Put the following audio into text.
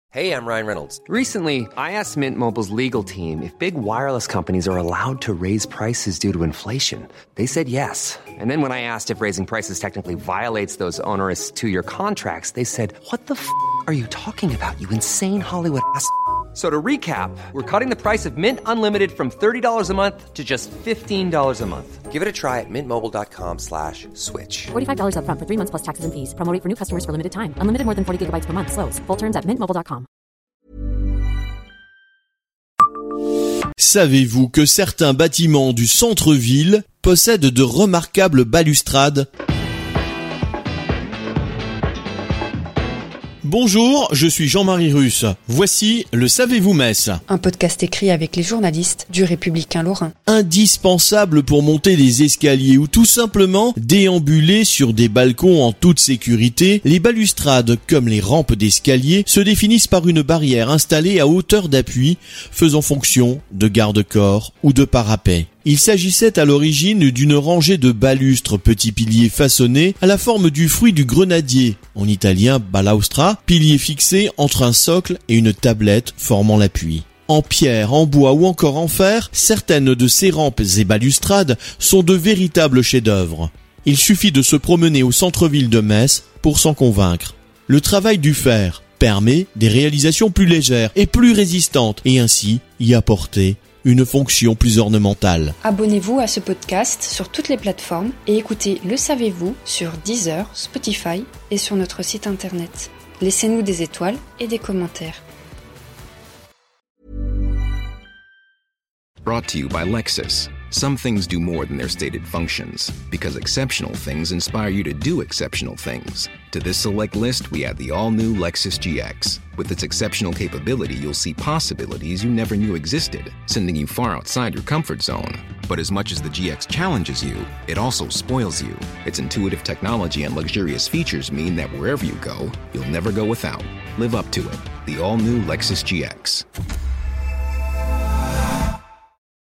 Hey, I'm Ryan Reynolds. Recently, I asked Mint Mobile's legal team if big wireless companies are allowed to raise prices due to inflation. They said yes. And then when I asked if raising prices technically violates those onerous two-year contracts, they said, "What the f*** are you talking about, you insane Hollywood ass?" So to recap, we're cutting the price of Mint Unlimited from $30 a month to just $15 a month. Give it a try at mintmobile.com/switch. $45 up front for 3 months plus taxes and fees. Promo rate for new customers for limited time. Unlimited more than 40 gigabytes per month. Slows full terms at mintmobile.com. Savez-vous que certains bâtiments du centre-ville possèdent de remarquables balustrades ? Bonjour, je suis Jean-Marie Russe. Voici le Savez-vous Metz ? Un podcast écrit avec les journalistes du Républicain Lorrain. Indispensable pour monter des escaliers ou tout simplement déambuler sur des balcons en toute sécurité, les balustrades, comme les rampes d'escalier, se définissent par une barrière installée à hauteur d'appui, faisant fonction de garde-corps ou de parapet. Il s'agissait à l'origine d'une rangée de balustres, petits piliers façonnés à la forme du fruit du grenadier, en italien balaustra, pilier fixé entre un socle et une tablette formant l'appui. En pierre, en bois ou encore en fer, certaines de ces rampes et balustrades sont de véritables chefs-d'œuvre. Il suffit de se promener au centre-ville de Metz pour s'en convaincre. Le travail du fer permet des réalisations plus légères et plus résistantes et ainsi y apporter une fonction plus ornementale. Abonnez-vous à ce podcast sur toutes les plateformes et écoutez Le Savez-vous sur Deezer, Spotify et sur notre site internet. Laissez-nous des étoiles et des commentaires. Brought to you by Lexus. Some things do more than their stated functions, because exceptional things inspire you to do exceptional things. To this select list, we add the all-new Lexus GX. With its exceptional capability, you'll see possibilities you never knew existed, sending you far outside your comfort zone. But as much as the GX challenges you, it also spoils you. Its intuitive technology and luxurious features mean that wherever you go, you'll never go without. Live up to it. The all-new Lexus GX.